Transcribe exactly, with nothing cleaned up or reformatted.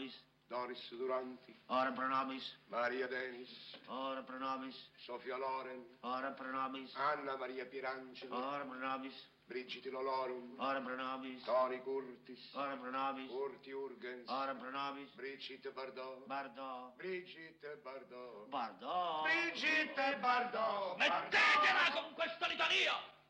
nobis. Doris Duranti. Ora pro nobis. Maria Denis. Ora pro nobis. Sofia Loren. Ora pro nobis. Anna Maria Pierangelo. Ora pro nobis. Brigitte Lolorum. Ora pro nobis. Tony Curtis. Ora pro nobis. Urti Urgens. Ora pro nobis. Brigitte Bardot. Bardot. Brigitte Bardot. Bardot. Brigitte Bardot. Mettetela con questa litania!